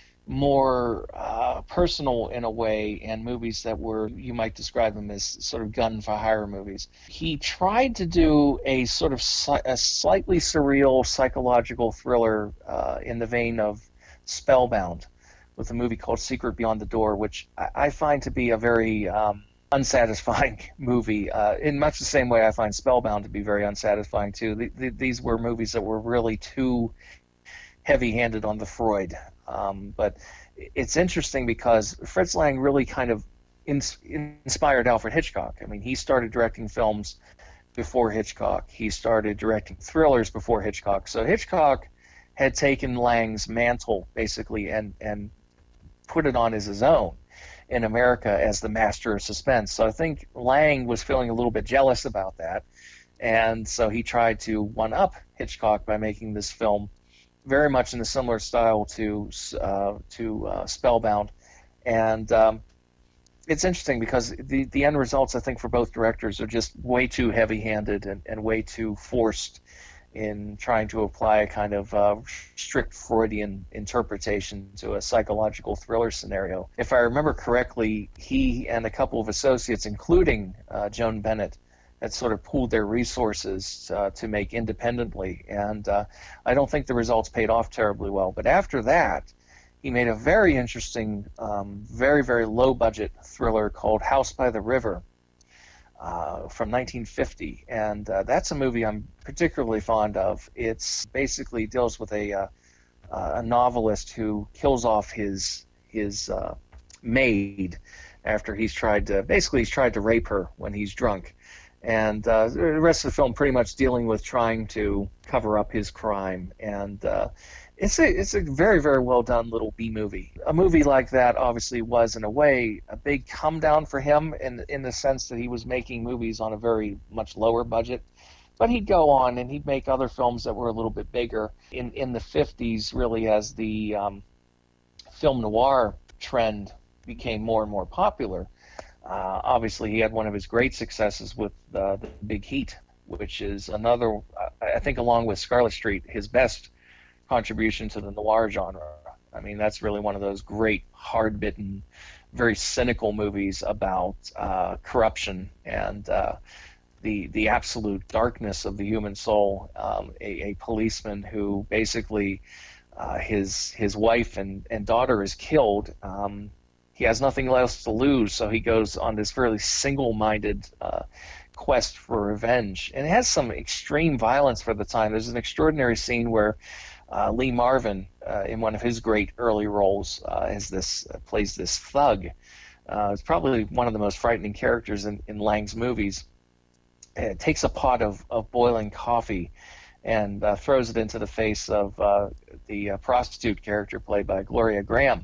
more personal in a way and movies that were, you might describe them as sort of gun-for-hire movies. He tried to do a sort of a slightly surreal psychological thriller in the vein of Spellbound, with a movie called Secret Beyond the Door, which I find to be a very unsatisfying movie, in much the same way I find Spellbound to be very unsatisfying too. These were movies that were really too heavy-handed on the Freud. But it's interesting because Fritz Lang really kind of inspired Alfred Hitchcock. I mean, he started directing films before Hitchcock. He started directing thrillers before Hitchcock. So Hitchcock had taken Lang's mantle, basically, and put it on as his own in America as the master of suspense. So I think Lang was feeling a little bit jealous about that, and so he tried to one-up Hitchcock by making this film very much in a similar style to Spellbound. And it's interesting because the end results, I think, for both directors are just way too heavy-handed and way too forced in trying to apply a kind of strict Freudian interpretation to a psychological thriller scenario. If I remember correctly, he and a couple of associates, including Joan Bennett, had sort of pooled their resources to make independently, and I don't think the results paid off terribly well. But after that, he made a very interesting, very, very low-budget thriller called House by the River, from 1950, and that's a movie I'm particularly fond of. It's basically deals with a novelist who kills off his maid after he's tried to rape her when he's drunk, and the rest of the film pretty much dealing with trying to cover up his crime. And it's a very, very well done little B movie. A movie like that obviously was, in a way, a big come down for him in the sense that he was making movies on a very much lower budget. But he'd go on and he'd make other films that were a little bit bigger. In the 50s, really, as the film noir trend became more and more popular, obviously he had one of his great successes with the Big Heat, which is another, I think along with Scarlet Street, his best contribution to the noir genre. I mean, that's really one of those great, hard-bitten, very cynical movies about corruption and the absolute darkness of the human soul. A policeman who basically his wife and daughter is killed. He has nothing else to lose, so he goes on this fairly single-minded quest for revenge. And it has some extreme violence for the time. There's an extraordinary scene where Lee Marvin, in one of his great early roles, plays this thug. It's probably one of the most frightening characters in Lang's movies. It takes a pot of boiling coffee and throws it into the face of the prostitute character played by Gloria Graham.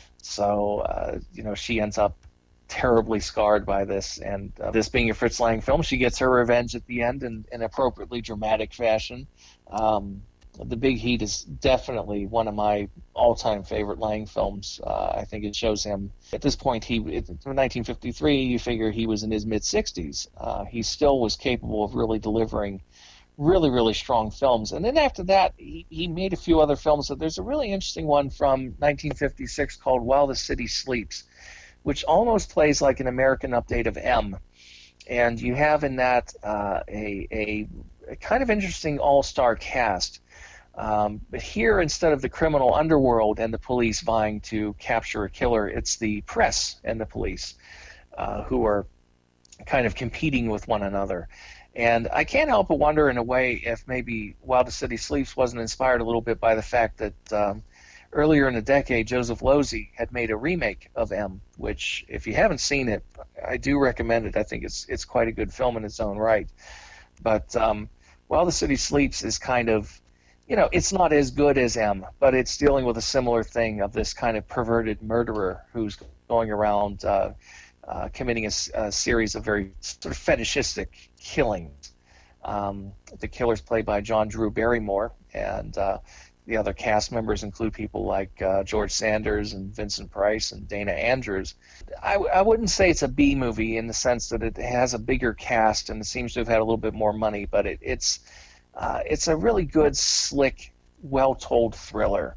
So, she ends up terribly scarred by this. And this being a Fritz Lang film, she gets her revenge at the end in an appropriately dramatic fashion. The Big Heat is definitely one of my all-time favorite Lang films. I think it shows him, at this point, in 1953, you figure he was in his mid-60s. He still was capable of really delivering really, really strong films. And then after that, he made a few other films. So there's a really interesting one from 1956 called While the City Sleeps, which almost plays like an American update of M. And you have in that a kind of interesting all-star cast. But here, instead of the criminal underworld and the police vying to capture a killer, it's the press and the police who are kind of competing with one another. And I can't help but wonder, in a way, if maybe While the City Sleeps wasn't inspired a little bit by the fact that earlier in the decade, Joseph Losey had made a remake of M, which, if you haven't seen it, I do recommend it. I think it's quite a good film in its own right. But While the City Sleeps is kind of, it's not as good as M, but it's dealing with a similar thing of this kind of perverted murderer who's going around committing a series of very sort of fetishistic killings. The killer's played by John Drew Barrymore, and the other cast members include people like George Sanders and Vincent Price and Dana Andrews. I wouldn't say it's a B movie in the sense that it has a bigger cast and it seems to have had a little bit more money, but it's a really good, slick, well-told thriller.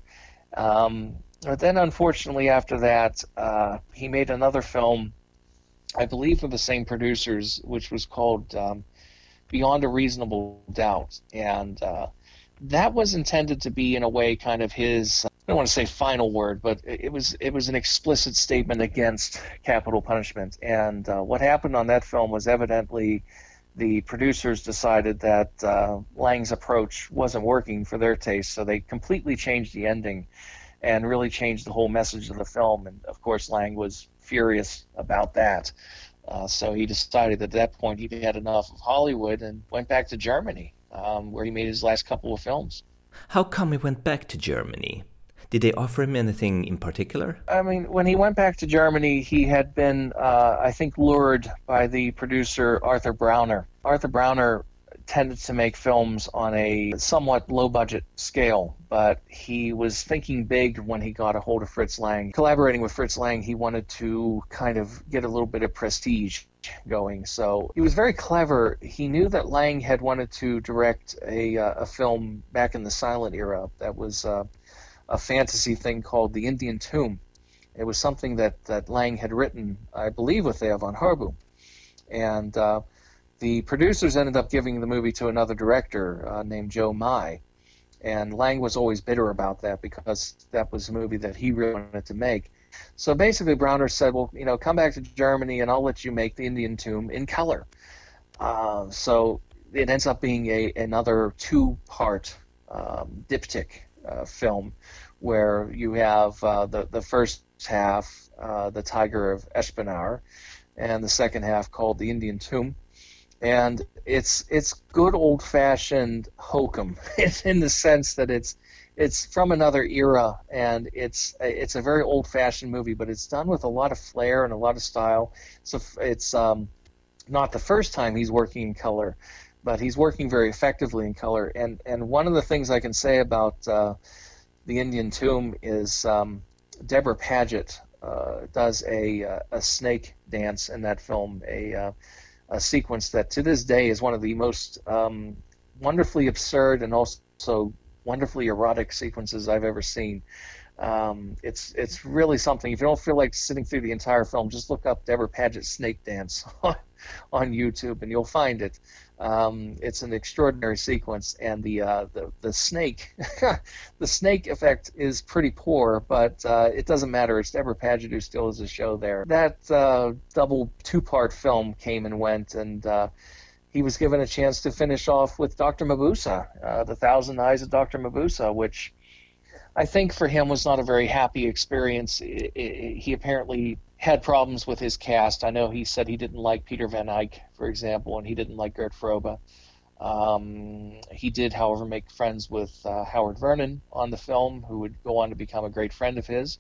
But then, unfortunately, after that, he made another film, I believe with the same producers, which was called Beyond a Reasonable Doubt. And that was intended to be, in a way, kind of his, I don't want to say final word, but it was an explicit statement against capital punishment. And what happened on that film was evidently the producers decided that Lang's approach wasn't working for their taste, so they completely changed the ending and really changed the whole message of the film. And, of course, Lang was furious about that. So he decided that at that point he'd had enough of Hollywood and went back to Germany, where he made his last couple of films. How come he went back to Germany? Did they offer him anything in particular? I mean, when he went back to Germany, he had been, I think, lured by the producer Arthur Brauner. Arthur Brauner tended to make films on a somewhat low-budget scale, but he was thinking big when he got a hold of Fritz Lang. Collaborating with Fritz Lang, he wanted to kind of get a little bit of prestige going. So he was very clever. He knew that Lang had wanted to direct a film back in the silent era that was a fantasy thing called The Indian Tomb. It was something that Lang had written, I believe, with Theo von Harboom. And the producers ended up giving the movie to another director named Joe Mai. And Lang was always bitter about that because that was a movie that he really wanted to make. So basically Brauner said, well, come back to Germany and I'll let you make The Indian Tomb in color. So it ends up being another two-part diptych film where you have the first half, The Tiger of Eschpenauer, and the second half called The Indian Tomb. And it's good old-fashioned hokum in the sense that it's from another era, and it's a very old-fashioned movie, but it's done with a lot of flair and a lot of style. So it's not the first time he's working in color, but he's working very effectively in color. And one of the things I can say about The Indian Tomb is Deborah Paget does a snake dance in that film, a sequence that to this day is one of the most wonderfully absurd and also wonderfully erotic sequences I've ever seen. It's really something. If you don't feel like sitting through the entire film, just look up Deborah Paget's snake dance on YouTube, and you'll find it. It's an extraordinary sequence, and the snake, the snake effect is pretty poor, but it doesn't matter. It's Deborah Paget who still has a show there. That double two-part film came and went, and he was given a chance to finish off with Dr. Mabuse, The Thousand Eyes of Dr. Mabuse, which I think for him was not a very happy experience. He apparently had problems with his cast. I know he said he didn't like Peter Van Eyck, for example, and he didn't like Gert Frobe. He did, however, make friends with Howard Vernon on the film, who would go on to become a great friend of his.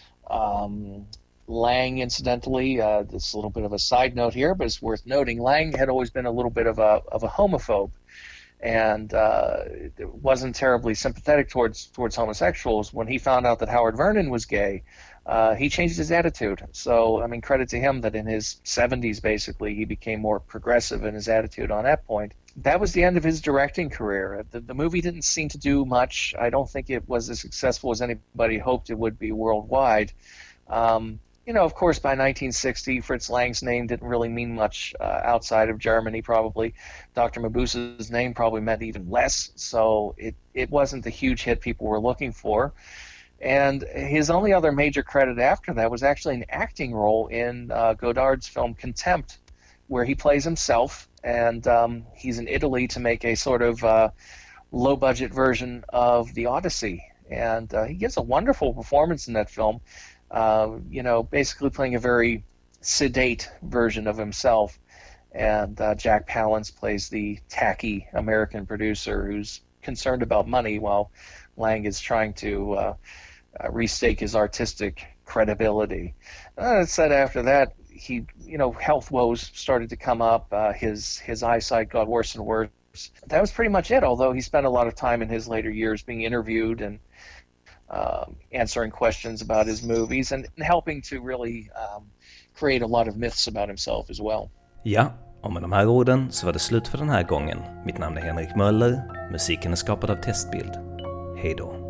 Lang, incidentally, this is a little bit of a side note here, but it's worth noting, Lang had always been a little bit of a homophobe, and wasn't terribly sympathetic towards homosexuals. When he found out that Howard Vernon was gay, he changed his attitude. So, I mean, credit to him that in his 70s, basically, he became more progressive in his attitude on that point. That was the end of his directing career. The movie didn't seem to do much. I don't think it was as successful as anybody hoped it would be worldwide. Of course, by 1960, Fritz Lang's name didn't really mean much outside of Germany, probably. Dr. Mabuse's name probably meant even less, so it wasn't the huge hit people were looking for. And his only other major credit after that was actually an acting role in Godard's film Contempt, where he plays himself, and he's in Italy to make a sort of low-budget version of The Odyssey. And he gives a wonderful performance in that film. Basically playing a very sedate version of himself. And Jack Palance plays the tacky American producer who's concerned about money while Lang is trying to restake his artistic credibility. That said, after that, health woes started to come up. His eyesight got worse and worse. That was pretty much it, although he spent a lot of time in his later years being interviewed and answering questions about his movies and helping to really create a lot of myths about himself as well. Ja, och med de här orden så var det slut för den här gången. Mitt namn är Henrik Möller. Musiken är skapad av Testbild. Hej då.